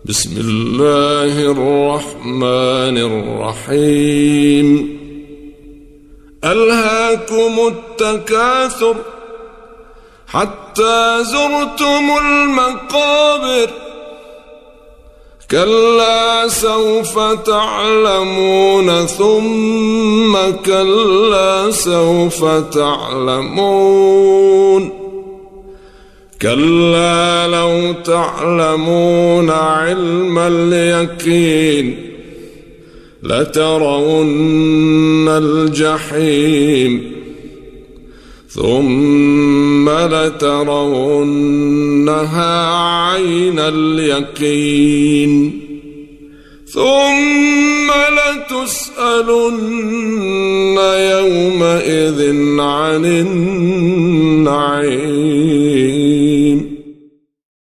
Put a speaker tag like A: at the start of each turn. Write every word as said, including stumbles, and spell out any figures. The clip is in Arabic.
A: بسم الله الرحمن الرحيم. ألهاكم التكاثر حتى زرتم المقابر، كلا سوف تعلمون ثم كلا سوف تعلمون، كلا لو تعلمون علم اليقين لترون الجحيم ثم لترونها عين اليقين ثم لتسألن يومئذ عن النعيم.